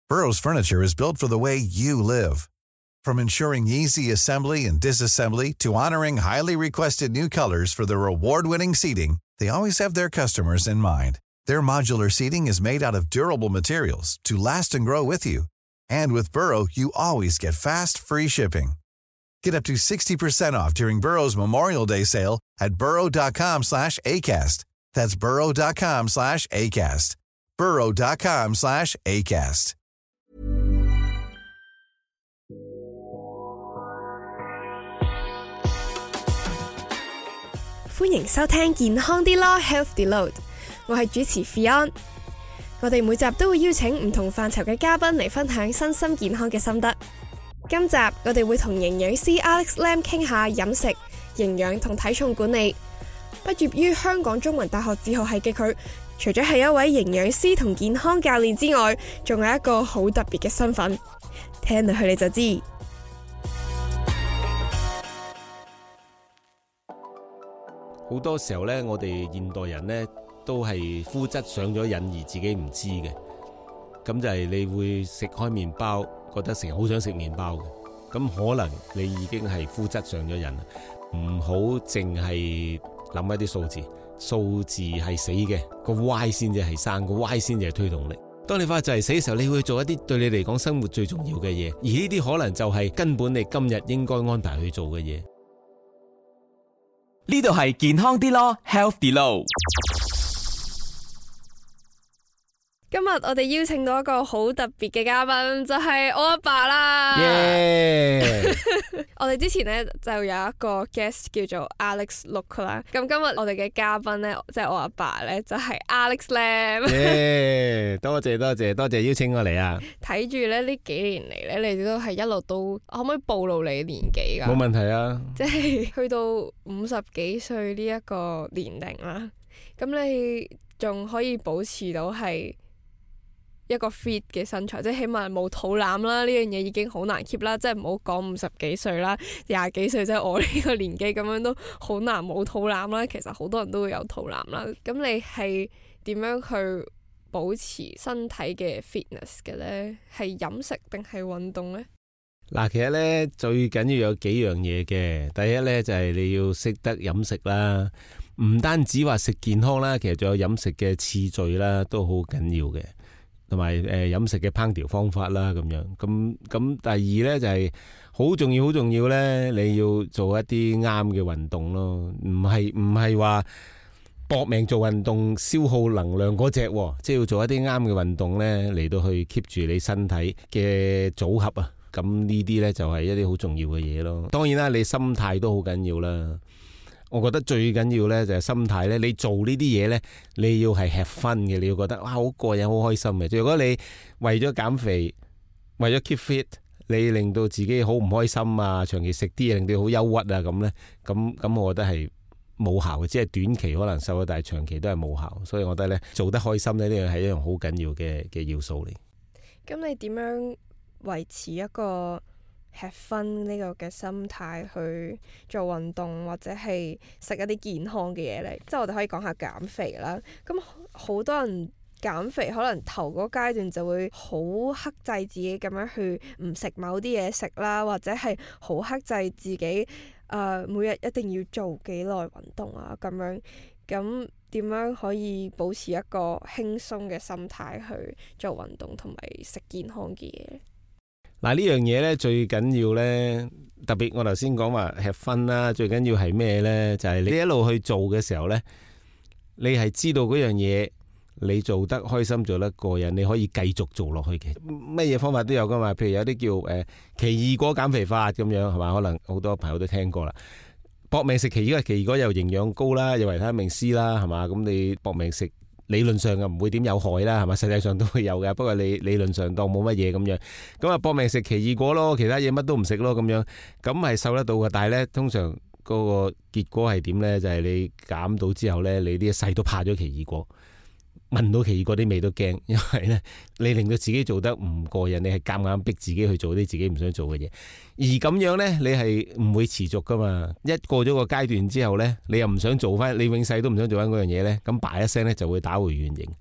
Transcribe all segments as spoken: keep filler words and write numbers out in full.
Burrow's furniture is built for the way you live. From ensuring easy assembly and disassembly to honoring highly requested new colors for their award-winning seating, they always have their customers in mind. Their modular seating is made out of durable materials to last and grow with you. And with Burrow, you always get fast, free shipping. Get up to sixty percent off during Burrow's Memorial Day sale at burrow.com slash ACAST. That's burrow.com slash ACAST. burrow.com slash ACAST. 歡迎收聽健康啲咯 Health Deload， 我係主持 Fion。我哋每集都會邀請唔同範疇嘅嘉賓嚟分享身心健康嘅心得。今集我哋會同營養師 Alex Lam 傾下飲食、營養同體重管理。畢業於香港中文大學自學系嘅佢，除咗係一位營養師同健康教練之外，仲有一個好特別嘅身份。聽落去你就知。 好多時候咧，我哋現代人咧都係膚質上咗癮而自己唔知嘅。咁就係你會食開麵包，覺得成日好想食麵包嘅。咁可能你已經係膚質上咗癮啦。唔好淨係諗一啲數字，數字係死嘅，個 Y 先至係生，個 Y 先至係推動力。當你發覺就係死嘅時候，你會做一啲對你嚟講生活最重要嘅嘢，而呢啲可能就係根本你今日應該安排去做嘅嘢。 呢度係健康啲咯 Health Deload。 今日我哋邀請到一個好特別嘅嘉賓，就係、是、我阿爸啦。 Yeah! 我哋之前咧就有一個 guest 叫做 Alex Look 啦。咁今日我哋嘅嘉賓咧，即、就、係、是、我阿爸咧，就係、是、Alex Lam。 Yeah! 多謝多謝多謝邀請我嚟啊！ 睇住咧呢幾年嚟咧，你哋都係一路都可唔可以暴露你年紀噶？ 冇問題啊！ 即係去到五十幾歲呢一個年齡啦，咁你仲可以保持到係一個 fit 嘅身材，即係起碼冇肚腩啦，呢樣嘢已經好難 keep 啦。即係唔好講五十幾歲啦，廿幾歲即係我呢個年紀咁樣都好難冇肚腩啦。其實好多人都會有肚腩啦。咁你係點樣去保持身體嘅 fitness 嘅呢？係飲食定係運動呢？ 嗱，其實呢，最緊要有幾樣嘢嘅。第一呢，就係你要識得飲食啦，唔單止話食健康啦，其實仲有飲食嘅次序啦，都好緊要嘅。同埋誒飲食嘅烹調方法啦，咁樣咁咁。第二呢，就係好重要，好重要呢，你要做一啲啱嘅運動咯，唔係唔係話搏命做運動消耗能量嗰隻，即係要做一啲啱嘅運動呢，嚟到去 keep 住你身體嘅組合啊。咁呢啲呢，就係一啲好重要嘅嘢咯。當然啦，你心態都好緊要啦。我覺得最緊要呢就係心態呢，你做呢啲嘢呢，你要係吃分嘅，你要覺得哇好過癮，好開心嘅。如果你為咗減肥，為咗 keep fit，你令到自己好唔開心啊，長期食啲嘢令到好憂鬱啊咁呢，咁咁我覺得係冇效嘅，只係短期可能瘦咗，但係長期都係冇效。所以我覺得呢，做得開心呢，呢樣係一樣好緊要嘅嘅要素嚟。 咁你點樣維持一個吃分呢個嘅心態去做運動，或者係食一啲健康嘅嘢咧？即係我哋可以講下減肥啦。咁好多人減肥可能頭嗰階段就會好克制自己咁樣去唔食某啲嘢食啦，或者係好克制自己誒、呃、每日一定要做幾耐運動啊咁樣。咁點樣可以保持一個輕鬆嘅心態去做運動同埋食健康嘅嘢？ 嗱，呢樣嘢咧最緊要咧，特別我頭先講話吃分啦，最緊要係咩咧？就係你一路去做嘅時候咧，你係知道嗰樣嘢你做得開心，做得過癮，你可以繼續做落去嘅。乜嘢方法都有噶嘛？譬如有啲叫誒奇異果減肥法咁樣，係嘛？可能好多朋友都聽過啦。搏命食奇異果，奇異果又營養高啦，又維他命 C 啦，係嘛？咁你搏命食，理論上啊唔會點有害啦，係嘛？實際上都會有嘅，不過你理論上當冇乜嘢咁樣，咁啊搏命食奇異果咯，其他嘢乜都唔食咯咁樣，咁係瘦得到嘅。但係咧，通常嗰個結果係點咧？就係你減到之後咧，你啲細都怕咗奇異果。聞到奇異果啲味都驚，因為咧你令到自己做得唔過癮，你係夾硬逼自己去做啲自己唔想做嘅嘢，而咁樣咧你係唔會持續噶嘛。一過咗個階段之後咧，你又唔想做翻，你永世都唔想做翻嗰樣嘢咧，咁叭一聲咧就會打回原形。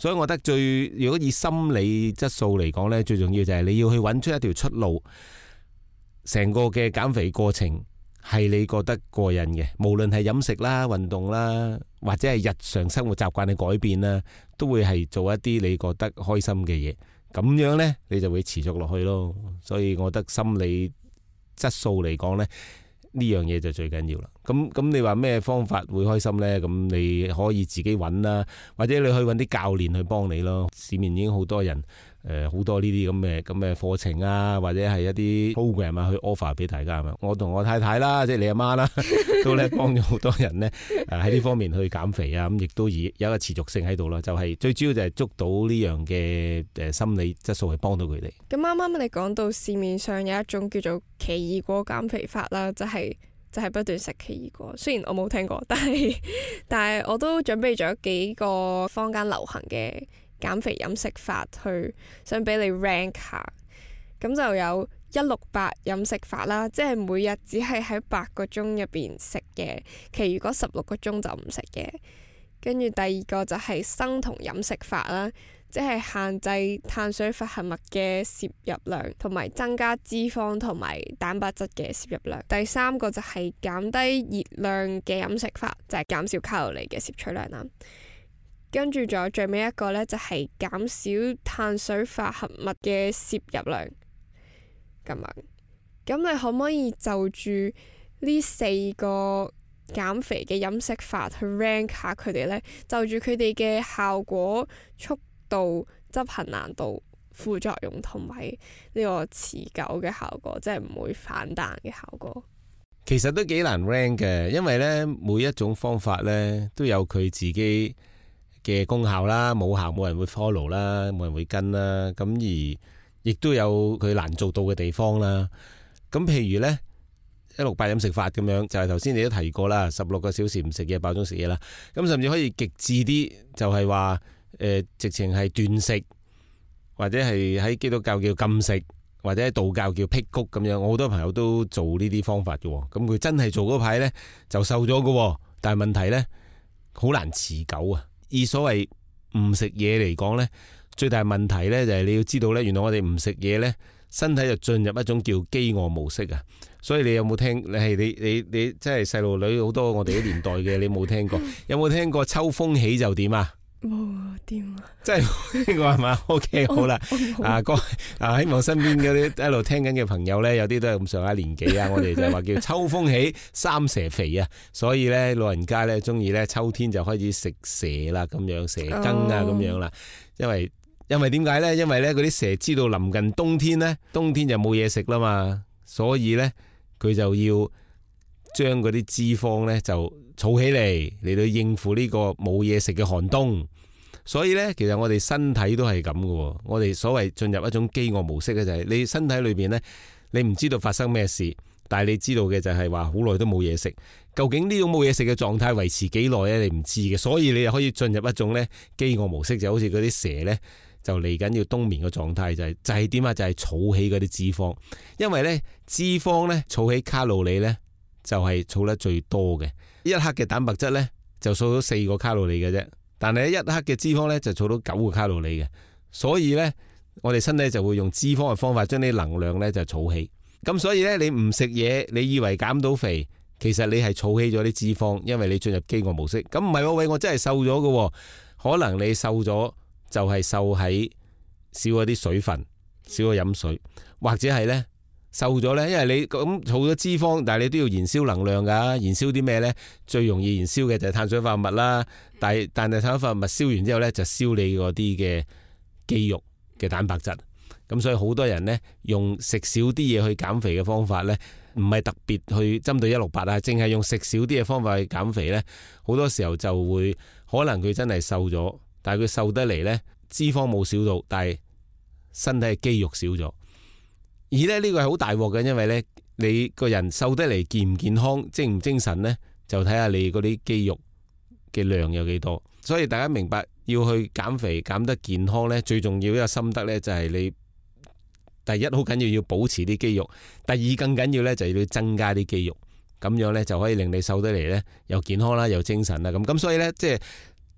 所以我覺得最如果以心理質素嚟講呢，最重要就係你要去揾出一條出路，成個嘅減肥過程係你覺得過癮嘅，無論係飲食啦、運動啦，或者係日常生活習慣嘅改變啦，都會係做一啲你覺得開心嘅嘢，咁樣呢，你就會持續落去咯。所以我覺得心理質素嚟講呢，呢樣嘢就最緊要啦。咁咁你話咩方法會開心呢？咁你可以自己揾啦，或者你去揾啲教練去幫你咯。市面已經好多人誒，好、呃、多呢啲咁嘅咁嘅課程啊，或者係一啲 program 啊，去 offer 俾大家啊。我同我太太啦，即係你阿媽啦，都咧幫咗好多人呢誒喺呢方面去減肥啊。咁亦都以有一個持續性喺度啦。就係、是、最主要就係捉到呢樣嘅誒心理質素，去幫到佢哋。 咁啱啱你講到市面上有一種叫做奇異果減肥法啦，就係、是。就係不斷食奇異果，雖然我冇聽過，但係但係我都準備咗幾個坊間流行嘅減肥飲食法，去想俾你 rank 下。咁就有一六八飲食法啦，即係每日只係喺八個鐘入邊食嘢，其餘嗰十六個鐘就唔食嘢。跟住第二個就係生酮飲食法啦，即係限制碳水化合物嘅攝入量，同埋增加脂肪同埋蛋白質嘅攝入量。第三個就係減低熱量嘅飲食法，就係減少卡路里嘅攝取量啦。跟住仲有最尾一個呢，就係減少碳水化合物嘅攝入量。咁樣，咁你可唔可以就住呢四個減肥嘅飲食法去 rank 下佢哋呢？就住佢哋嘅效果、速度、執行難度、副作用同埋呢個持久嘅效果，即係唔會反彈嘅效果。 其實都幾難 rank 嘅，因為呢每一種方法呢都有佢自己嘅功效啦，冇效冇人會 follow 啦，冇人會跟啦。咁而亦都有佢難做到嘅地方啦。咁譬如呢一六八飲食法咁樣，就係頭先你都提過啦，十六個小時唔食嘢，爆鐘食嘢啦。咁甚至可以極致啲，就係話誒，直情係斷食，或者係喺基督教叫禁食，或者喺道教叫辟谷咁樣。我好多朋友都做呢啲方法嘅，咁佢真係做嗰排呢，就瘦咗嘅，但係問題呢，好難持久啊。以所謂唔食嘢嚟講呢，最大問題呢就係你要知道呢，原來我哋唔食嘢呢，身體就進入一種叫飢餓模式啊。所以你有冇聽？你係你你你即係細路女好多，我哋啲年代嘅，你冇聽過？有冇聽過秋風起就點啊？ 冇啊，點啊？ 即係呢個係嘛 ？OK， 好啦，啊哥啊，希望身邊嗰啲一路聽緊嘅朋友咧，有啲都係咁上下年紀啊。我哋就話叫秋風起，三蛇肥啊。所以咧，老人家咧中意咧秋天就開始食蛇啦，咁樣蛇羹啊，咁樣啦。因為因為點解咧？因為咧嗰啲蛇知道臨近冬天咧，冬天就冇嘢食啦嘛，所以咧。佢就要將嗰啲脂肪呢就儲起嚟，嚟到應付呢個冇嘢食嘅寒冬。所以呢，其實我哋身體都係咁嘅。我哋所謂進入一種飢餓模式嘅就係你身體裏邊呢，你唔知道發生咩事，但係你知道嘅就係話好耐都冇嘢食。究竟呢種冇嘢食嘅狀態維持幾耐呢？你唔知嘅。所以你又可以進入一種呢飢餓模式，就好似嗰啲蛇呢。就嚟緊要冬眠嘅狀態，就係就係點啊？就係儲起嗰啲脂肪，因為呢脂肪呢儲起卡路里呢，就係儲得最多嘅。一克嘅蛋白質呢，就儲到四個卡路里嘅啫，但係一克嘅脂肪呢，就儲到九個卡路里嘅。所以呢，我哋身體就會用脂肪嘅方法將啲能量呢就儲起。咁所以呢，你唔食嘢，你以為減到肥，其實你係儲起咗啲脂肪，因為你進入飢餓模式。咁唔係喎，喂，我真係瘦咗嘅，可能你瘦咗。就係瘦喺少咗啲水分，少咗飲水，或者係呢瘦咗呢，因為你咁儲咗脂肪，但係你都要燃燒能量㗎，燃燒啲咩呢？最容易燃燒嘅就係碳水化合物啦。但係但係碳水化合物燒完之後呢，就燒你嗰啲嘅肌肉嘅蛋白質。咁所以好多人呢，用食少啲嘢去減肥嘅方法呢，唔係特別去針對一六八啊，淨係用食少啲嘅方法去減肥呢，好多時候就會可能佢真係瘦咗。但係佢瘦得嚟呢，脂肪冇少到，但係身體嘅肌肉少咗。而咧呢個係好大鑊嘅，因為呢，你個人瘦得嚟健唔健康、精唔精神呢，就睇下你嗰啲肌肉嘅量有幾多。所以大家明白要去減肥減得健康呢，最重要一個心得呢，就係你第一好緊要要保持啲肌肉，第二更緊要呢，就要增加啲肌肉，咁樣呢，就可以令你瘦得嚟呢，又健康啦又精神啦咁。咁所以呢，即係。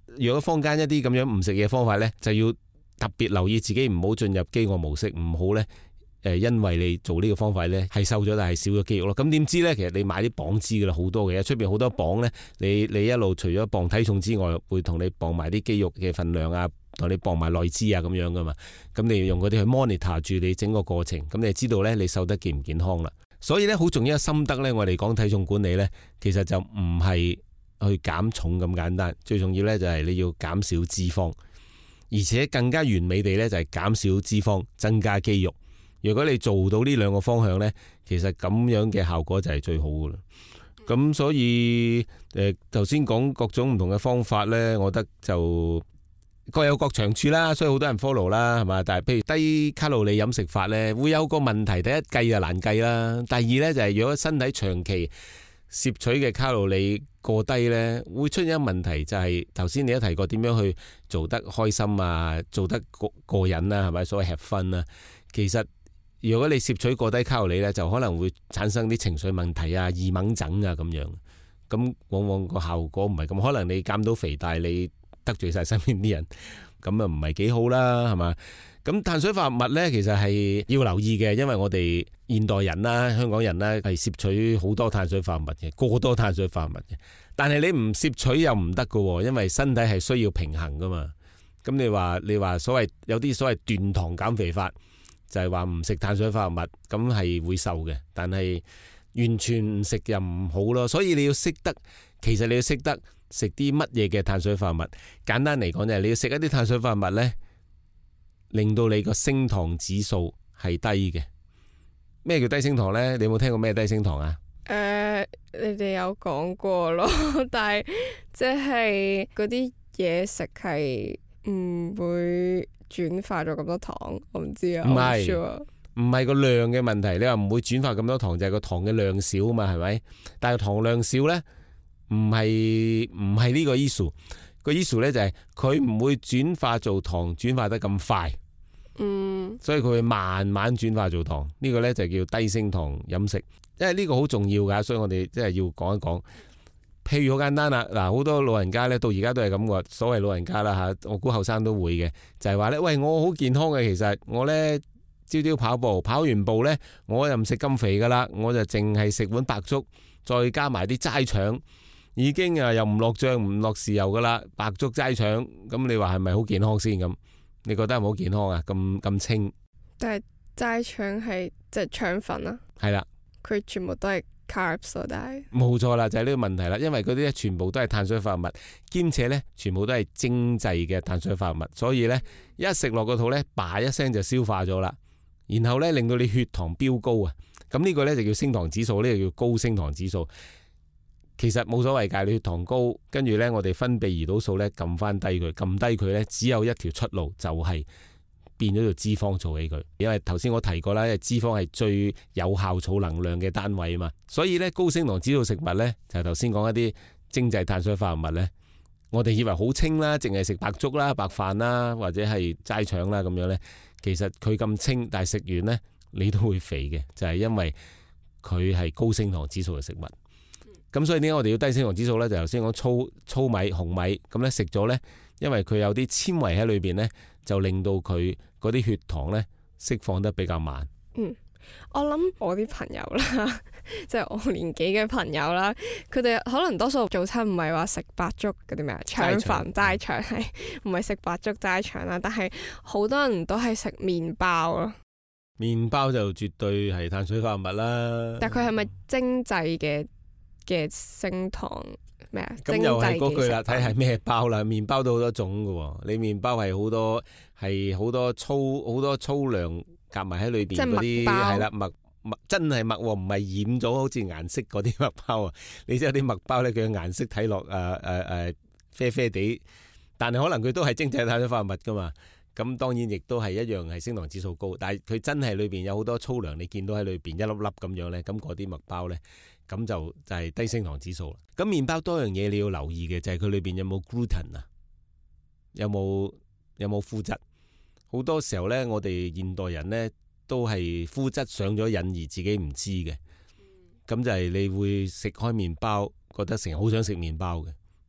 如果坊間一啲咁樣唔食嘢方法呢，就要特別留意自己唔好進入飢餓模式，唔好呢。誒，因為你做呢個方法呢，係瘦咗，但係少咗肌肉咯。咁點知呢？其實你買啲磅知噶啦，好多嘅，出邊好多磅呢，你你一路除咗磅體重之外，會同你磅埋啲肌肉嘅份量啊，同你磅埋內脂啊咁樣噶嘛。咁你要用嗰啲去 monitor 住你整個過程，咁你就知道呢，你瘦得健唔健康啦。所以呢，好重要嘅心得呢，我哋講體重管理呢，其實就唔係去減重咁簡單，最重要呢，就係你要減少脂肪，而且更加完美地呢，就係減少脂肪，增加肌肉。如果你做到呢兩個方向呢，其實咁樣嘅效果就係最好噶啦。咁所以誒，頭先講各種唔同嘅方法呢，我覺得就各有各長處啦，所以好多人 follow 啦，係嘛？但係譬如低卡路里飲食法呢，會有個問題，第一計就難計啦，第二呢，就係如果身體長期攝取嘅卡路里過低呢，會出現一個問題，就係頭先你都提過點樣去做得開心啊，做得過過癮啊，係咪？所謂 have fun啊，其實如果你攝取過低卡路里咧，就可能會產生啲情緒問題啊、易猛症啊咁樣，咁往往個效果唔係咁。可能你減到肥，但係你得罪晒身邊啲人，咁啊唔係幾好啦，係嘛？咁碳水化合物咧，其實係要留意嘅，因為我哋現代人啦、香港人啦係攝取好多碳水化合物嘅，過多碳水化合物嘅。但係你唔攝取又唔得㗎，因為身體係需要平衡噶嘛。咁你話你話所謂有啲所謂斷糖減肥法。就係話唔食碳水化合物，咁係會瘦嘅，但係完全唔食又唔好咯。所以你要識得，其實你要識得食啲乜嘢嘅碳水化合物。簡單嚟講就係你要食一啲碳水化合物呢，令到你個升糖指數係低嘅。咩叫低升糖呢？你有冇聽過咩低升糖啊？ 誒、呃，你哋有講過咯，但係即係嗰啲嘢食係唔會轉化咗咁多糖，我唔知啊。唔係唔係個量嘅問題，你話唔會轉化咁多糖，就係、是、個糖嘅量少啊嘛，係咪？但係糖量少呢，唔係唔係呢個 issue， 個 issue 呢就係佢唔會轉化做糖，轉化得咁快。 嗯， 所以佢會慢慢轉化做糖，呢、這個呢就叫低升糖飲食，因為呢個好重要噶，所以我哋即係要講一講。譬如好簡單啦，嗱，好多老人家咧到而家都係咁嘅，所謂老人家啦吓，我估後生都會嘅，就係話咧，喂，我好健康嘅，其實我咧朝朝跑步，跑完步咧，我又唔食咁肥噶啦，我就淨係食碗白粥，再加埋啲齋腸，已經啊又唔落醬唔落豉油噶啦，白粥齋腸，咁你話係咪好健康先咁？你覺得係咪好健康啊？咁咁清？ 但係齋腸係即係腸粉啊？ 係啦， 佢全部都係。carbs 但係冇錯啦，就係呢個問題啦，因為嗰啲咧全部都係碳水化合物，兼且咧全部都係精製嘅碳水化合物，所以咧一食落個肚咧，叭一聲就消化咗啦，然後咧令到你血糖飆高啊，咁呢個咧就叫升糖指數，呢個叫高升糖指數。其實冇所謂㗎，你血糖高，跟住咧我哋分泌胰島素咧撳翻低佢，撳低佢咧只有一條出路，就係、是。變咗做脂肪儲起佢，因為頭先我提過啦，因為脂肪係最有效儲能量嘅單位啊嘛，所以咧高升糖指數食物咧就係頭先講一啲精製碳水化合物咧，我哋以為好清啦，淨係食白粥啦、白飯啦或者係齋腸啦咁樣咧，其實佢咁清，但係食完咧你都會肥嘅，就係、是、因為佢係高升糖指數嘅食物。咁所以點解我哋要低升糖指數咧？就頭先講粗粗米、紅米咁咧食咗咧，因為佢有啲纖維喺裏邊咧。就令到佢嗰啲血糖咧釋放得比較慢。 嗯，我諗我啲朋友啦，即係我年紀嘅朋友啦，佢哋可能多數早餐唔係話食白粥嗰啲咩腸粉齋腸，係唔係食白粥齋腸啦？但係好多人都係食麵包咯。 麵包就絕對係碳水化合物啦。 但佢係咪精製嘅嘅升糖？ 咁又係嗰句啦，睇係咩包啦。麵包都好多種噶，你麵包係好多係好多粗好多粗糧夾埋喺裏邊嗰啲係啦，麥麥真係麥，唔係染咗好似顏色嗰啲麥包啊。你知有啲麥包咧，佢嘅顏色睇落誒誒誒啡啡地，但係可能佢都係精製碳水化合物噶嘛。咁當然亦都係一樣係升糖指數高，但係佢真係裏邊有好多粗糧，你見到喺裏邊一粒粒咁樣咧，咁嗰啲麥包咧。咁就就係低升糖指數啦。咁麵包多樣嘢你要留意嘅就係佢裏邊有冇 gluten 啊，有冇有冇麩質。好多時候咧，我哋現代人咧都係麩質上咗癮而自己唔知嘅。咁就係你會食開麵包，覺得成日好想食麵包嘅。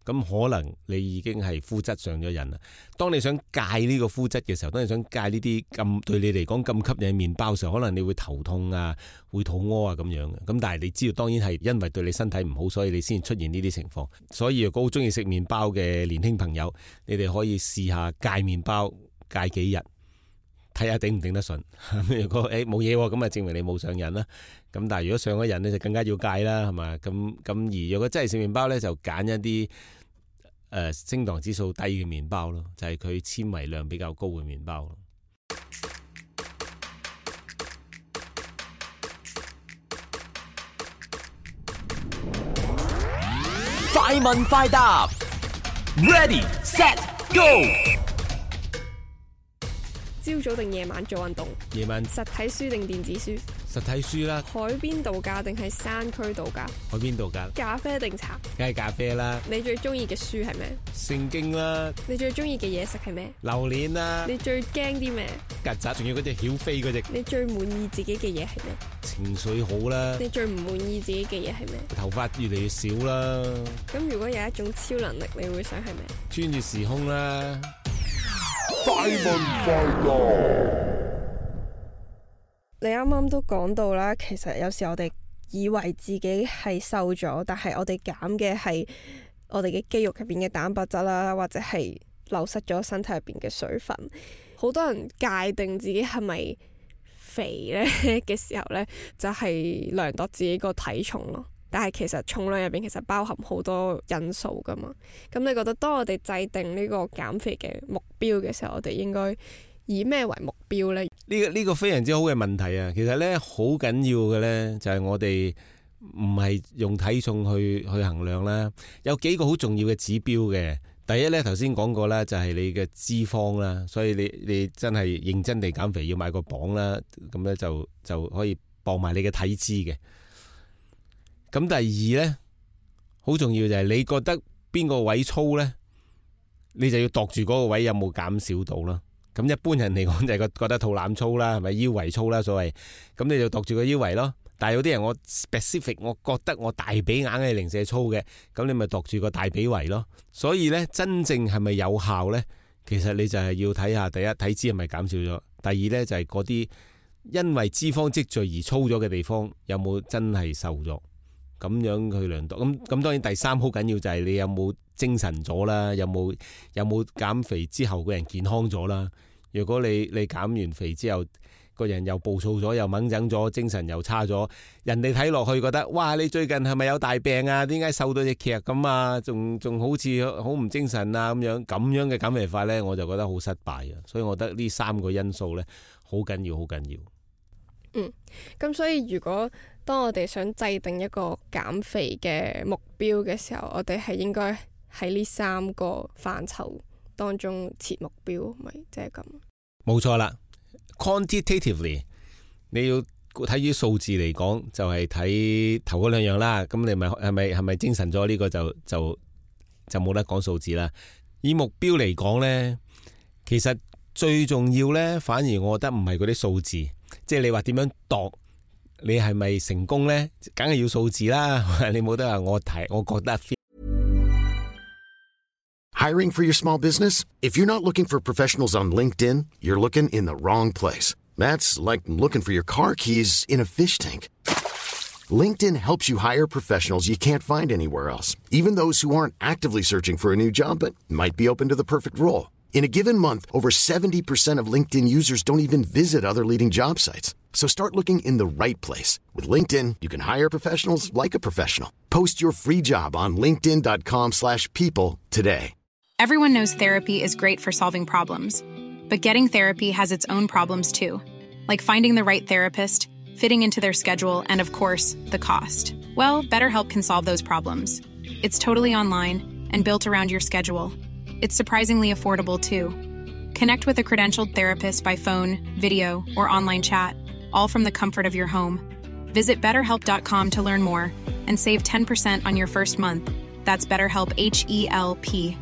咁可能你已經係膚質上咗癮啦。當你想戒呢個膚質嘅時候，當你想戒呢啲咁對你嚟講咁吸引嘅麵包嘅時候，可能你會頭痛啊，會肚屙啊咁樣嘅。咁但係你知道，當然係因為對你身體唔好，所以你先出現呢啲情況。所以如果好中意食麵包嘅年輕朋友，你哋可以試下戒麵包，戒幾日，睇下頂唔頂得順。如果誒冇嘢喎，咁啊證明你冇上癮啦。咁但係如果上咗癮咧，就更加要戒啦，係嘛？咁咁而如果真係食麵包咧，就揀一啲誒升糖指數低嘅麵包咯，就係佢纖維量比較高嘅麵包咯。 快問快答 ，Ready Set Go。 朝早定夜晚做運動？ 夜晚實體書定電子書？ 實體書啦。 海邊度假定係山區度假？ 海邊度假。 咖啡定茶？ 梗係咖啡啦。 你最中意嘅書係咩？ 聖經啦。 你最中意嘅嘢食係咩？ 榴蓮啦。 你最驚啲咩？ 曱甴，仲要嗰隻曉飛嗰隻。 你最滿意自己嘅嘢係咩？ 情緒好啦。 你最唔滿意自己嘅嘢係咩？ 頭髮越嚟越少啦。 咁如果有一種超能力，你會想係咩？ 穿越時空啦。 快問快答。 你啱啱都講到啦，其實有時我哋以為自己係瘦咗，但係我哋減嘅係我哋嘅肌肉入邊嘅蛋白質啦，或者係流失咗身體入邊嘅水分。好多人界定自己係咪肥呢嘅時候呢，就係量度自己個體重咯。但係其實重量入邊其實包含好多因素噶嘛。咁你覺得當我哋制定呢個減肥嘅目標嘅時候，我哋應該以咩為目標呢？ 呢個呢個非常之好嘅問題啊！其實呢，好緊要嘅呢，就係我哋唔係用體重去去衡量啦，有幾個好重要嘅指標嘅。第一呢，頭先講過啦，就係你嘅脂肪啦，所以你你真係認真地減肥要買個磅啦，咁呢就就可以磅埋你嘅體脂嘅。咁第二呢，好重要就係你覺得邊個位粗呢，你就要度住嗰個位有冇減少到啦。咁一般人嚟講就係覺得肚腩粗啦，係咪腰圍粗啦所謂，咁你就度住個腰圍咯。但係有啲人我 specific， 我覺得我大髀硬係零舍粗嘅，咁你咪度住個大髀圍咯。所以呢，真正係咪有效呢？其實你就係要睇下第一體脂係咪減少咗，第二呢，就係嗰啲因為脂肪積聚而粗咗嘅地方有冇真係瘦咗，咁樣去量度。咁咁當然第三好緊要就係你有冇精神咗啦，有冇有冇減肥之後個人健康咗啦。如果你你減完肥之後個人又暴躁咗，又掹整咗，精神又差咗，人哋睇落去覺得哇，你最近係咪有大病啊？點解瘦到隻劇咁啊？仲仲好似好唔精神啊咁樣，咁樣嘅減肥法呢，我就覺得好失敗啊。所以我覺得呢三個因素呢，好緊要，好緊要。 嗯，咁所以如果當我哋想制定一個減肥嘅目標嘅時候，我哋係應該喺呢三個範疇當中設目標，咪即係咁。 冇錯啦 ，quantitatively 你要睇啲數字嚟講，就係、是、睇頭嗰兩樣啦。咁你咪係咪係咪精神咗？呢個就就就冇得講數字啦。以目標嚟講呢，其實最重要呢，反而我覺得唔係嗰啲數字，即係你話點樣度，你係咪成功呢？梗係要數字啦。你冇得話我睇，我覺得。 Hiring for your small business? If you're not looking for professionals on LinkedIn, you're looking in the wrong place. That's like looking for your car keys in a fish tank. LinkedIn helps you hire professionals you can't find anywhere else, even those who aren't actively searching for a new job but might be open to the perfect role. In a given month, over seventy percent of LinkedIn users don't even visit other leading job sites. So start looking in the right place. With LinkedIn, you can hire professionals like a professional. Post your free job on linkedin.com slash people today. Everyone knows therapy is great for solving problems, but getting therapy has its own problems too, like finding the right therapist, fitting into their schedule, and of course, the cost. Well, BetterHelp can solve those problems. It's totally online and built around your schedule. It's surprisingly affordable too. Connect with a credentialed therapist by phone, video, or online chat, all from the comfort of your home. Visit better help dot com to learn more and save ten percent on your first month. That's BetterHelp, H E L P.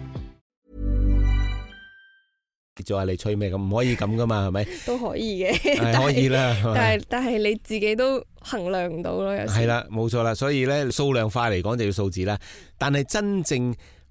就話你吹咩咁，唔可以咁噶嘛，係咪？ 都可以嘅， 係可以啦。 但係但係你自己都衡量唔到咯，有時。 係啦，冇錯啦。所以咧，數量化嚟講就要數字啦。但係真正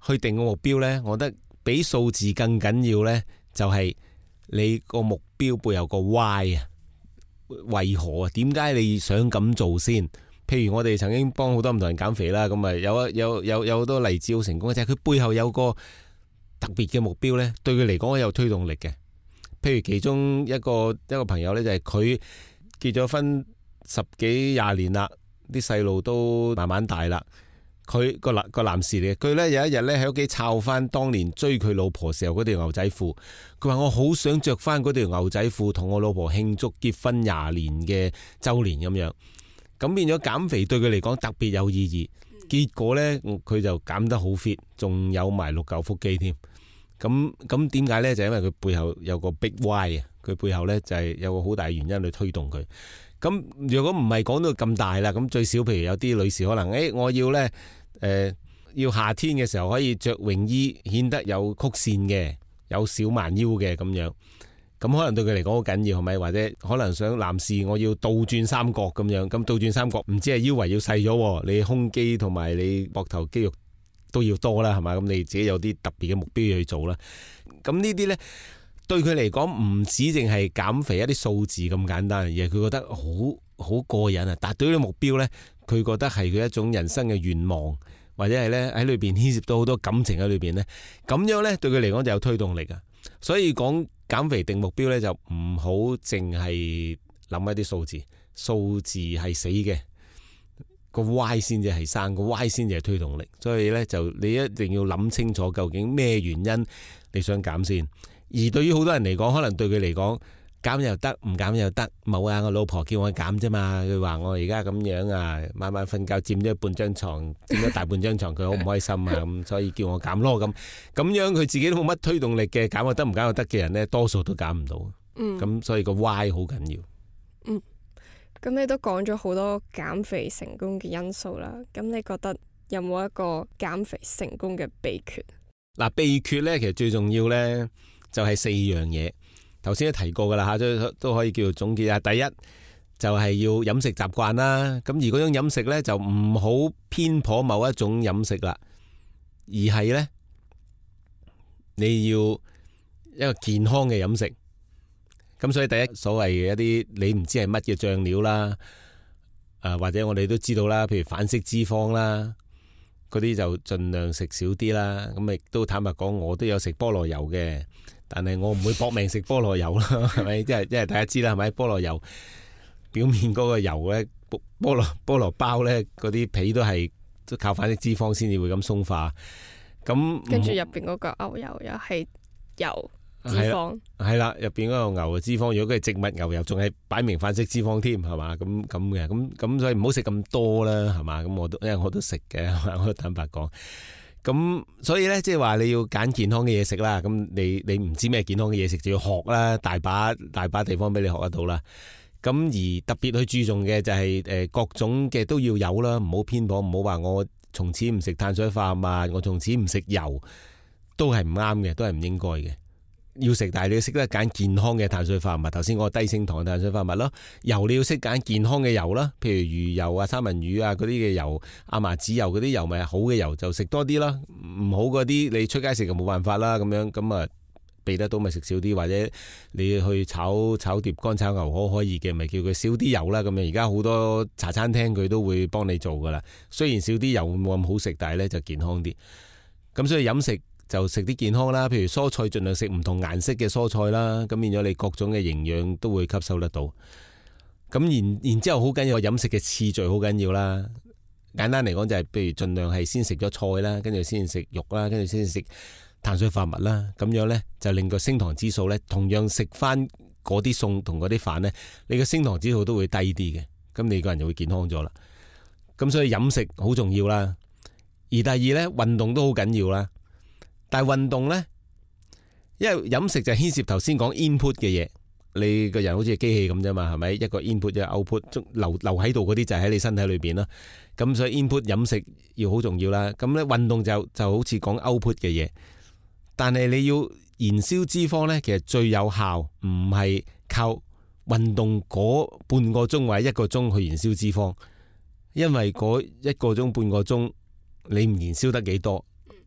去定個目標呢，我覺得比數字更緊要呢，就係你個目標背後個 why 啊，為何啊？點解你想咁做先？譬如我哋曾經幫好多唔同人減肥啦，咁啊有有有有好多例子好成功嘅，就係佢背後有個特別嘅目標呢，對佢嚟講有推動力嘅。譬如其中一個一個朋友呢，就係佢結咗婚十幾廿年啦，啲細路都慢慢大啦。佢個男個男士嚟嘅，佢呢有一日呢喺屋企抄翻當年追佢老婆時候嗰條牛仔褲，佢話我好想着翻嗰條牛仔褲同我老婆慶祝結婚廿年嘅周年咁樣，咁變咗減肥對佢嚟講特別有意義。結果呢，佢就減得好 fit， 仲有埋六嚿腹肌添。咁咁點解呢？就因為佢背後有個 big why 啊，佢背後呢就係有個好大原因去推動佢。咁如果唔係講到咁大啦，咁最少譬如有啲女士可能，誒、欸、我要呢，誒、呃、要夏天嘅時候可以着泳衣，顯得有曲線嘅，有小蠻腰嘅咁樣。咁可能對佢嚟講好緊要係咪？或者可能想男士我要倒轉三角咁樣，咁倒轉三角唔止係腰圍要細咗，你胸肌同埋你膊頭肌肉都要多啦，係嘛？咁你自己有啲特別嘅目標要去做啦。咁呢啲呢，對佢嚟講唔止淨係減肥一啲數字咁簡單，而係佢覺得好好過癮啊！達到呢個目標呢，佢覺得係佢一種人生嘅願望，或者係呢喺裏邊牽涉到好多感情喺裏邊呢。咁樣呢，對佢嚟講就有推動力啊！所以講減肥定目標呢，就唔好淨係諗一啲數字，數字係死嘅。個 Y 先至係生，個 Y 先至係推動力，所以呢，就你一定要諗清楚究竟咩原因你想減先。而對於好多人嚟講，可能對佢嚟講減又得，唔減又得。冇啊，我老婆叫我減啫嘛，佢話我而家咁樣啊，晚晚瞓覺佔咗半張床，佔咗大半張床，佢好唔開心啊，咁所以叫我減咯。咁咁樣佢自己都冇乜推動力嘅，減又得，唔減又得嘅人呢，多數都減唔到。嗯，咁所以個 Y 好緊要。 嗯。咁你都講咗好多減肥成功嘅因素啦，咁你覺得有冇一個減肥成功嘅秘訣？ 嗱，秘訣呢，其實最重要呢，就係四樣嘢，頭先都提過噶啦吓，都都可以叫做總結下。第一就係要飲食習慣啦，咁而嗰種飲食呢，就唔好偏頗某一種飲食啦，而係呢，你要一個健康嘅飲食。咁所以第一所謂嘅一啲你唔知係乜嘅醬料啦，誒或者我哋都知道啦，譬如反式脂肪啦，嗰啲就盡量食少啲啦。咁亦都坦白講，我都有食菠蘿油嘅，但係我唔會搏命食菠蘿油啦，係咪？即係即係大家知啦，係咪？菠蘿油表面嗰個油咧，菠蘿菠蘿包咧，嗰啲皮都係都靠反式脂肪先至會咁鬆化。咁跟住入邊嗰個牛油又係油。脂肪係啦，入邊嗰個牛嘅脂肪，如果佢係植物牛油，仲係擺明反式脂肪添，係嘛？咁咁嘅，咁咁所以唔好食咁多啦，係嘛？咁我都因為我都食嘅，我都坦白講。咁所以咧，即係話你要揀健康嘅嘢食啦。咁你你唔知咩健康嘅嘢食，就要學啦，大把大把地方俾你學得到啦。咁而特別去注重嘅就係誒各種嘅都要有啦，唔好偏頗，唔好話我從此唔食碳水化合物，我從此唔食油，都係唔啱嘅，都係唔應該嘅。要食，但係你要識得揀健康嘅碳水化合物。頭先嗰個低升糖嘅碳水化合物咯，油你要識揀健康嘅油啦，譬如魚油啊、三文魚啊嗰啲嘅油，亞麻籽油嗰啲油咪好嘅油就食多啲啦，唔好嗰啲你出街食就冇辦法啦，咁樣咁啊避得到咪食少啲，或者你去炒炒碟乾炒牛河可以嘅，咪叫佢少啲油啦。咁樣而家好多茶餐廳佢都會幫你做噶啦，雖然少啲油冇咁好食，但係呢就健康啲。咁所以飲食就食啲健康啦，譬如蔬菜盡量食唔同顏色嘅蔬菜啦，咁變咗你各種嘅營養都會吸收得到。咁然然之後好緊要飲食嘅次序好緊要啦。簡單嚟講就係，譬如盡量係先食咗菜啦，跟住先食肉啦，跟住先食碳水化合物啦，咁樣呢，就令個升糖指數呢，同樣食翻嗰啲餸同嗰啲飯呢，你個升糖指數都會低啲嘅，咁你個人就會健康咗啦。咁所以飲食好重要啦。而第二呢，運動都好緊要啦。但係運動呢，因為飲食就牽涉頭先講 input 嘅嘢，你個人好似機器咁啫嘛，係咪？一個 input 一個 output，留留喺度嗰啲就喺你身體裏邊啦。咁所以 input 飲食要好重要啦。咁咧運動就就好似講 output 嘅嘢，但係你要燃燒脂肪呢，其實最有效唔係靠運動嗰半個鐘或者一個鐘去燃燒脂肪，因為嗰一個鐘半個鐘你唔燃燒得幾多。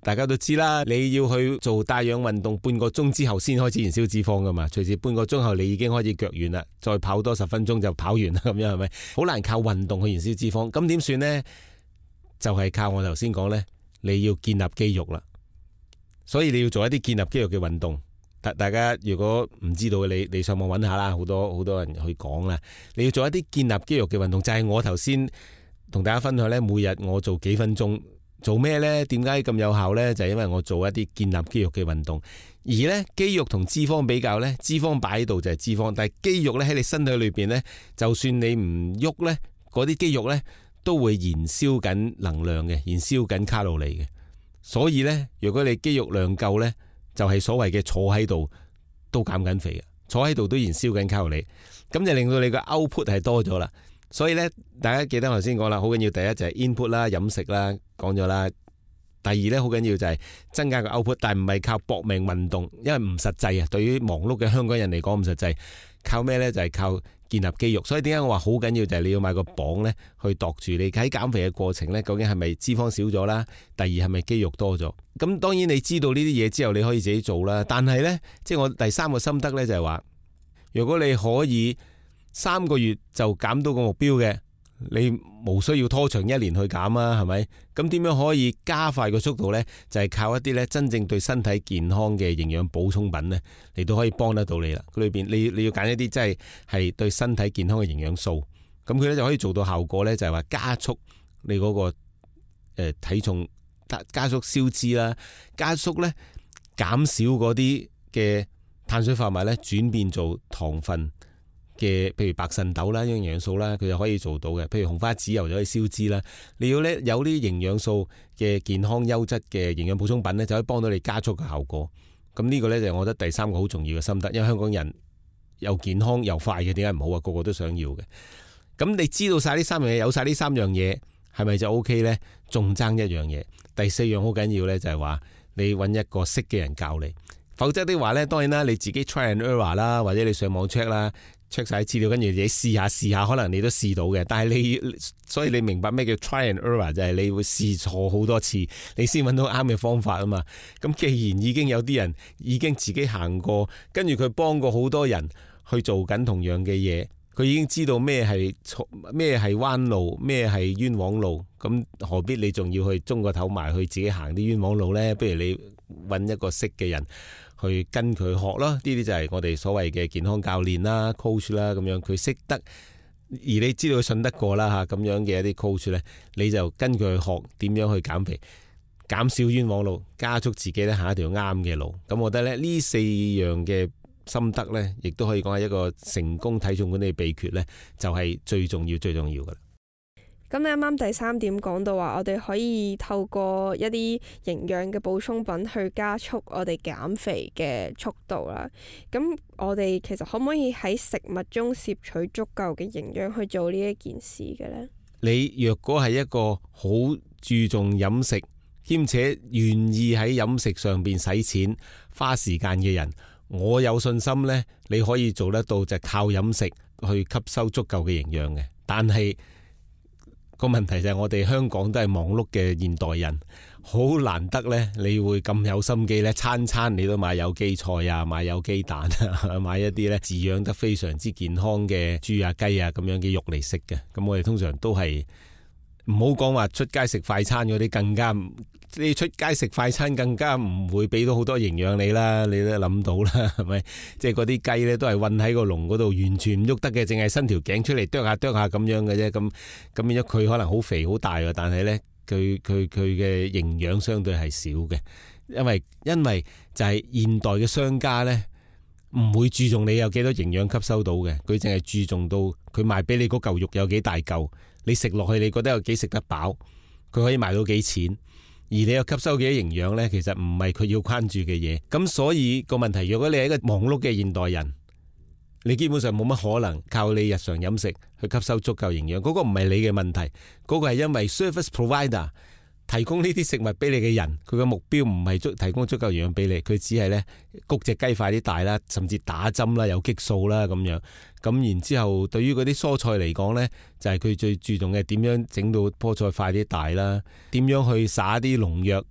大家都知啦，你要去做帶氧運動半個鐘之後先開始燃燒脂肪噶嘛，隨時半個鐘後你已經開始腳軟啦，再跑多十分鐘就跑完啦，咁樣係咪？好難靠運動去燃燒脂肪，咁點算呢？就係、是、靠我頭先講呢，你要建立肌肉啦，所以你要做一啲建立肌肉嘅運動。大大家如果唔知道嘅，你你上網揾下啦，好多好多人去講啦。你要做一啲建立肌肉嘅運動，就係、是、我頭先同大家分享呢，每日我做幾分鐘。做咩呢？點解咁有效呢？就係因為我做一啲建立肌肉嘅運動，而呢肌肉同脂肪比較呢，脂肪擺喺度就係脂肪，但係肌肉呢喺你身體裏邊呢，就算你唔喐呢，嗰啲肌肉呢都會燃燒緊能量嘅，燃燒緊卡路里嘅。所以呢，如果你肌肉量夠呢，就係所謂嘅坐喺度都減緊肥嘅，坐喺度都燃燒緊卡路里，咁就令到你個 output 係多咗啦。所以咧，大家記得頭先講啦，好緊要。第一就係 input 啦，飲食啦，講咗啦。第二咧，好緊要就係增加個 output，但係唔係靠搏命運動，因為唔實際啊。對於忙碌嘅香港人嚟講唔實際。靠咩咧？就係靠建立肌肉。所以點解我話好緊要就係你要買個磅咧，去度住你喺減肥嘅過程咧，究竟係咪脂肪少咗啦？第二係咪肌肉多咗？咁當然你知道呢啲嘢之後，你可以自己做啦。但係咧，即係我第三個心得咧，就係話，如果你可以三個月就減到個目標嘅，你無需要拖長一年去減啊，係咪？咁點樣可以加快個速度呢？就係、是、靠一啲咧真正對身體健康嘅營養補充品呢，嚟到可以幫得到你啦。佢裏邊你你要揀一啲真係係對身體健康嘅營養素，咁佢咧就可以做到效果呢，就係話加速你嗰、那個誒、呃、體重加速消脂啦，加速呢減少嗰啲嘅碳水化合物呢轉變做糖分嘅，譬如白腎豆啦，營養素啦，佢就可以做到嘅。譬如紅花籽油就可以消脂啦。你要咧有啲營養素嘅健康優質嘅營養補充品咧，就可以幫到你加速嘅效果。咁呢個咧就係我覺得第三個好重要嘅心得，因為香港人又健康又快嘅，點解唔好啊？個個都想要嘅。咁你知道晒呢三樣嘢，有晒呢三樣嘢，係咪就 O K 咧？仲爭一樣嘢，第四樣好緊要咧，就係話你揾一個識嘅人教你，否則的話咧，當然啦，你自己 try and error 啦，或者你上網 check 啦。check 晒資料，跟住自己試下試下，可能你都試到嘅。但係你，所以你明白咩叫 try and error， 就係你會試錯好多次，你先揾到啱嘅方法啊嘛。咁既然已經有啲人已經自己行過，跟住佢幫過好多人去做緊同樣嘅嘢，佢已經知道咩係錯，咩係彎路，咩係冤枉路。咁何必你仲要去中個頭埋去自己行啲冤枉路呢？不如你揾一個識嘅人去跟佢學咯，呢啲就係我哋所謂嘅健康教練啦、coach 啦咁樣，佢識得，而你知道佢信得過啦嚇，咁樣嘅一啲 coach 咧，你就跟佢去學點樣去減肥，減少冤枉路，加速自己咧行一條啱嘅路。咁我覺得咧呢四樣嘅心得咧，亦都可以講係一個成功體重管理秘訣咧，就係最重要、最重要噶啦。 咁你啱啱第三點講到話，我哋可以透過一啲營養嘅補充品去加速我哋減肥嘅速度啦。咁我哋其實可唔可以喺食物中攝取足夠嘅營養去做呢一件事嘅呢？ 你若果係一個好注重飲食，兼且願意喺飲食上邊使錢、花時間嘅人，我有信心呢，你可以做得到，就靠飲食去吸收足夠嘅營養嘅。但係個問題就係我哋香港都係忙碌嘅現代人，好難得呢，你會咁有心機呢，餐餐你都買有機菜啊，買有機蛋啊，買一啲呢飼養得非常之健康嘅豬啊雞啊咁樣嘅肉嚟食嘅。咁我哋通常都係唔好講話出街食快餐嗰啲，更加你出街食快餐更加唔會俾到好多營養你啦，你都諗到啦，係咪？即係嗰啲雞呢都係韞喺個籠嗰度，完全唔喐得嘅，淨係伸條頸出嚟啄下啄下咁樣嘅啫。咁咁變咗佢可能好肥好大嘅，但係呢，佢佢佢嘅營養相對係少嘅，因為因為就係現代嘅商家呢，唔會注重你有幾多營養吸收到嘅，佢淨係注重到佢賣俾你嗰嚿肉有幾大嚿，你食落去你覺得有幾食得飽，佢可以賣到幾錢。而你有吸收幾多營養呢？其實唔係佢要關注嘅嘢。咁所以個問題，如果你係一個忙碌嘅現代人，你基本上冇乜可能靠你日常飲食去吸收足夠營養。嗰個唔係你嘅問題，嗰個係因為 service provider 提供呢啲食物俾你嘅人，佢嘅目標唔係足提供足夠營養俾你，佢只係呢谷隻雞快啲大啦，甚至打針啦、有激素啦咁樣。咁然之後，對於嗰啲蔬菜嚟講呢，就係佢最注重嘅點樣整到棵菜快啲大啦，點樣去撒啲農藥，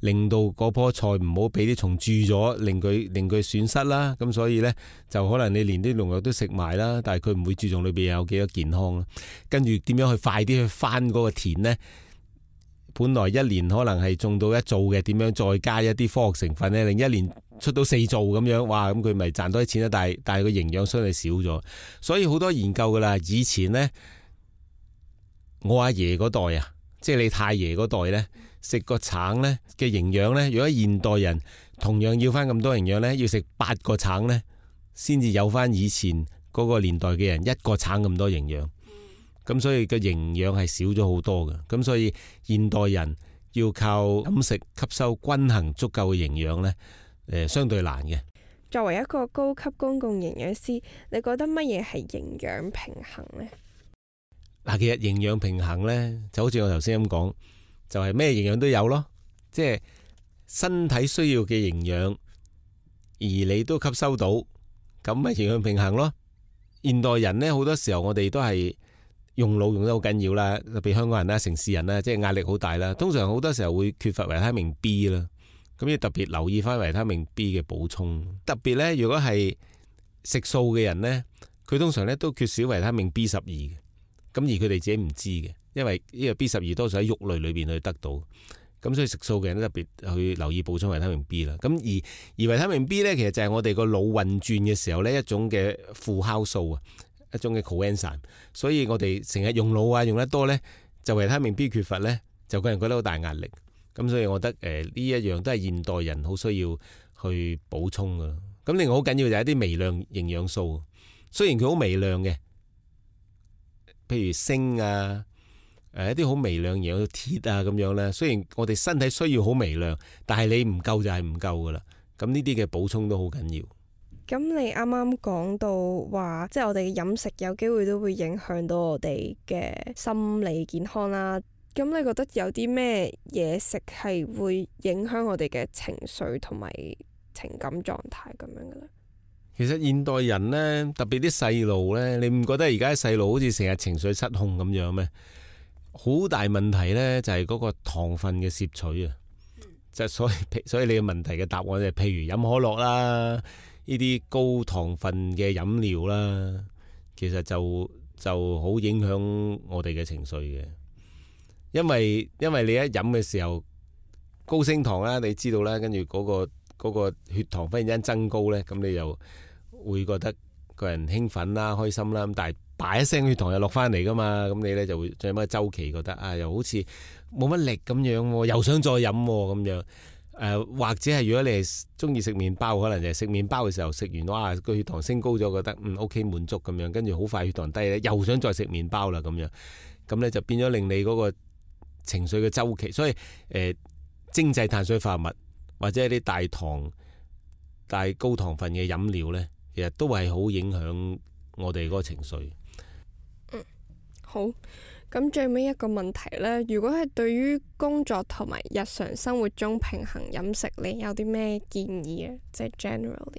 令到嗰棵菜唔好俾啲蟲蛀咗，令佢令佢損失啦。咁所以呢，就可能你連啲農藥都食埋啦，但係佢唔會注重裏邊有幾多健康啦。跟住點樣去快啲去翻嗰個田呢？本來一年可能係種到一造嘅，點樣再加一啲科學成分呢？令一年出到四造咁樣，哇！咁佢咪賺多啲錢啦。但係但係個營養相對少咗，所以好多研究噶啦。以前呢，我阿爺嗰代啊，即係你太爺嗰代呢，食個橙呢嘅營養呢，如果現代人同樣要翻咁多營養呢，要食八個橙呢，先至有翻以前嗰個年代嘅人一個橙咁多營養。咁所以個營養係少咗好多嘅，咁所以現代人要靠飲食吸收均衡足夠嘅營養呢，誒相對難嘅。 作為一個高級公共營養師，你覺得乜嘢係營養平衡呢？ 嗱，其實營養平衡呢，就好似我頭先咁講，就係咩營養都有咯，即係身體需要嘅營養，而你都吸收到，咁咪營養平衡咯。現代人呢，好多時候我哋都係用腦用得好緊要啦，特別香港人啦、城市人啦，即係壓力好大啦。通常好多時候會缺乏維他命 B 啦，咁要特別留意翻維他命 B 嘅補充。特別呢，如果係食素嘅人呢，佢通常呢都缺少維他命 B 十二嘅，咁而佢哋自己唔知嘅，因為呢個 B 十二多數喺肉類裏邊去得到，咁所以食素嘅人都特別去留意補充維他命 B 啦。咁而而維他命 B 呢，其實就係我哋個腦運轉嘅時候呢一種嘅副酵素啊。一種嘅 coenzyme，所以我哋成日用腦啊用得多呢，就維他命 B 缺乏呢，就個人覺得好大壓力。咁所以我覺得誒呢一樣都係現代人好需要去補充噶。咁另外好緊要就係一啲微量營養素，雖然佢好微量嘅，譬如鋅啊，誒一啲好微量營養鐵啊咁樣呢。雖然我哋身體需要好微量，但係你唔夠就係唔夠噶啦。咁呢啲嘅補充都好緊要。 咁你啱啱講到話，即係我哋嘅飲食有機會都會影響到我哋嘅心理健康啦。咁你覺得有啲咩嘢食係會影響我哋嘅情緒同埋情感狀態咁樣嘅咧？ 其實現代人呢，特別啲細路呢，你唔覺得而家細路好似成日情緒失控咁樣咩？好大問題呢，就係嗰個糖分嘅攝取啊！就所以所以你嘅問題嘅答案就係譬如飲可樂啦。呢啲高糖分嘅飲料啦，其實就就好影響我哋嘅情緒嘅，因為因為你一飲嘅時候高升糖啦，你知道啦，跟住嗰個嗰個血糖忽然間增高呢，咁你就會覺得個人興奮啦、開心啦，咁但係叭一聲血糖又落翻嚟噶嘛，咁你呢就會進入一個週期，覺得啊又好似冇乜力咁樣，又想再飲咁樣。誒、呃、或者係如果你係中意食麵包，可能就係食麵包嘅時候食完，哇個血糖升高咗，覺得嗯 OK 滿足咁樣，跟住好快血糖低咧，又想再食麵包啦咁樣，咁咧就變咗令你嗰個情緒嘅週期。所以誒、呃、精製碳水化合物或者一啲大糖、大高糖分嘅飲料咧，其實都係好影響我哋嗰個情緒。 嗯，好。咁最尾一個問題呢，如果係對於工作同埋日常生活中平衡飲食，你有啲咩建議啊？即係 generally。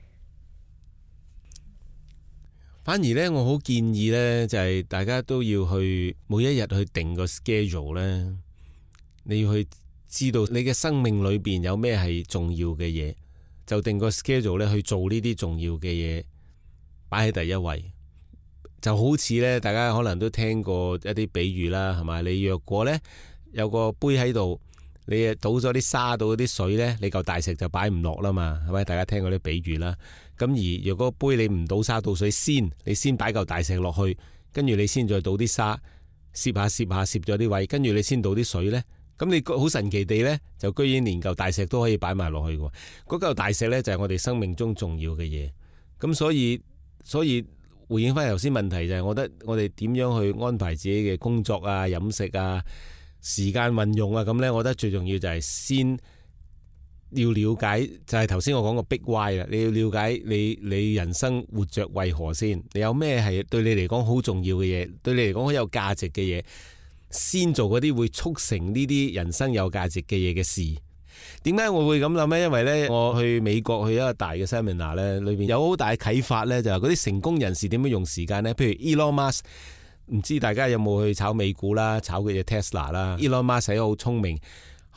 反而呢，我好建議呢，就係大家都要去每一日去定個 schedule 呢，你要去知道你嘅生命裏邊有咩係重要嘅嘢，就定個 schedule 呢去做呢啲重要嘅嘢，擺喺第一位。就好似咧，大家可能都聽過一啲比喻啦，係咪？你若果咧有個杯喺度，你倒咗啲沙到嗰啲水咧，你嚿大石就擺唔落啦嘛，係咪？大家聽過啲比喻啦。咁而若果杯你唔倒沙倒水先，你先擺嚿大石落去，跟住你先再倒啲沙，攝下攝下攝咗啲位，跟住你先倒啲水咧，咁你好神奇地咧，就居然連嚿大石都可以擺埋落去喎。嗰嚿大石咧就係我哋生命中重要嘅嘢。咁所以所以。回應翻頭先問題就係，我覺得我哋點樣去安排自己嘅工作啊、飲食啊、時間運用啊，咁呢，我覺得最重要就係先要了解，就係頭先我講個 big why 啦。你要了解你你人生活着為何先，你有咩係對你嚟講好重要嘅嘢，對你嚟講好有價值嘅嘢，先做嗰啲會促成呢啲人生有價值嘅嘢嘅事。點解我會咁諗呢？因為呢，我去美國去一個大嘅 seminar 呢，裏邊有好大嘅啟發呢，就係嗰啲成功人士點樣用時間呢？譬如 Elon Musk，唔知大家有冇去炒美股啦，炒佢隻 Tesla 啦。Elon Musk 係一個好聰明、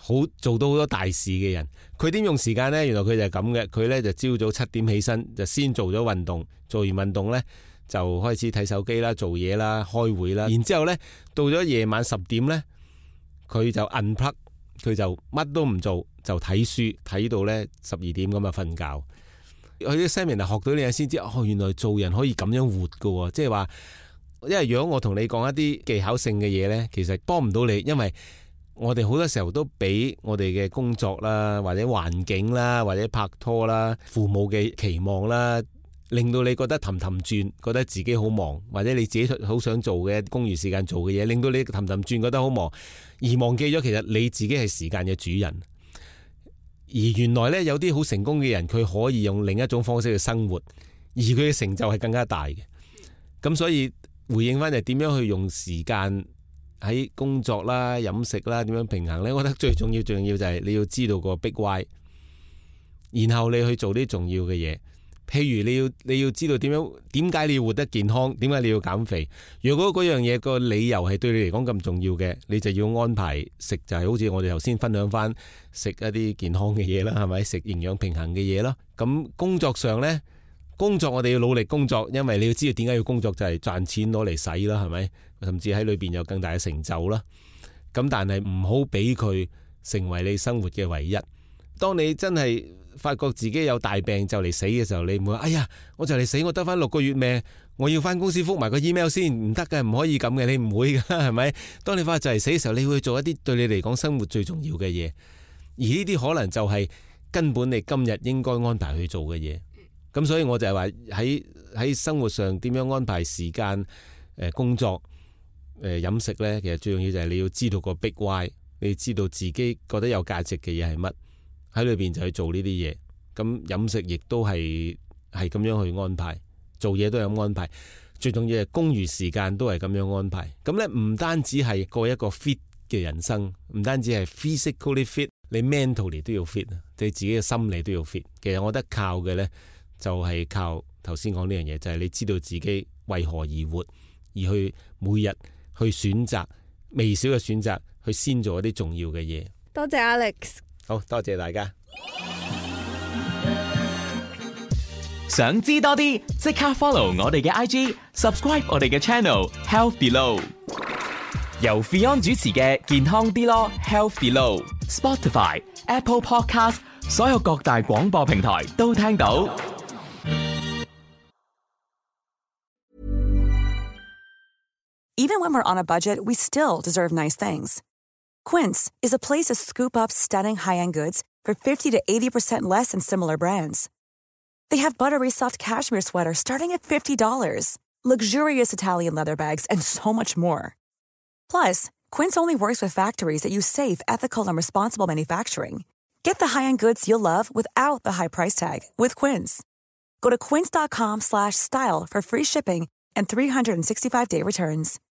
好做到好多大事嘅人。佢點用時間呢？原來佢就係咁嘅，佢呢就朝早七點起身，就先做咗運動，做完運動呢，就開始睇手機啦、做嘢啦、開會啦，然之後呢到咗夜晚十點呢，佢就 unplug， 佢就乜都唔做，就睇書睇到呢十二點咁啊瞓覺。佢啲 seminar 學到呢嘢先知，哦，原來做人可以咁樣活噶，即係話，因為如果我同你講一啲技巧性嘅嘢呢，其實幫唔到你，因為我哋好多時候都俾我哋嘅工作啦，或者環境啦，或者拍拖啦，父母嘅期望啦，令到你覺得氹氹轉，覺得自己好忙，或者你自己好想做嘅公餘時間做嘅嘢，令到你氹氹轉覺得好忙，而忘記咗其實你自己係時間嘅主人。而原來呢，有啲好成功嘅人，佢可以用另一種方式去生活，而佢嘅成就係更加大嘅。咁所以回應翻就點樣去用時間喺工作啦、飲食啦，點樣平衡呢？我覺得最重要、最重要就係你要知道個 big why， 然後你去做啲重要嘅嘢。譬如你要你要知道點樣點解你要活得健康，點解你要減肥。如果嗰樣嘢個理由係對你嚟講咁重要嘅，你就要安排食，就係好似我哋頭先分享翻食一啲健康嘅嘢啦，係咪？食營養平衡嘅嘢咯。咁工作上呢，工作我哋要努力工作，因為你要知道點解要工作，就係賺錢攞嚟使啦，係咪？甚至喺裏邊有更大嘅成就啦。咁但係唔好俾佢成為你生活嘅唯一。當你真係發覺自己有大病就嚟死嘅時候，你唔會話哎呀，我就嚟死，我得翻六個月命，我要翻公司覆埋個 email 先，唔得嘅，唔可以咁嘅，你唔會噶，係咪？當你發覺就嚟死嘅時候，你會做一啲對你嚟講生活最重要嘅嘢，而呢啲可能就係根本你今日應該安排去做嘅嘢。咁所以我就係話喺喺生活上點樣安排時間、誒工作、誒飲食呢？其實最重要就係你要知道個 big why， 你要知道自己覺得有價值嘅嘢係乜。喺裏邊就去做呢啲嘢，咁飲食亦都係係咁樣去安排，做嘢都係咁安排，最重要係公餘時間都係咁樣安排。咁咧唔單止係過一個 fit 嘅人生，唔單止係 physically fit，你 mentally 都要 fit，你自己嘅心理都要 fit。其實我覺得靠嘅咧就係靠頭先講呢樣嘢，就係你知道自己為何而活，而去每日去選擇微小嘅選擇，去先做一啲重要嘅嘢。 多謝 Alex。 好多謝大家。 想知多啲，即刻 follow 我哋嘅 I G，subscribe 我哋嘅 channel Health Below。由 Fion 主持嘅健康啲咯 Health Below，Spotify、Apple Podcast 所有各大廣播平台都聽到。 Even when we're on a budget, we still deserve nice things. Quince is a place to scoop up stunning high-end goods for fifty to eighty percent less than similar brands. They have buttery soft cashmere sweaters starting at fifty dollars, luxurious Italian leather bags, and so much more. Plus, Quince only works with factories that use safe, ethical, and responsible manufacturing. Get the high-end goods you'll love without the high price tag with Quince. Go to quince.com slash style for free shipping and three sixty-five day returns.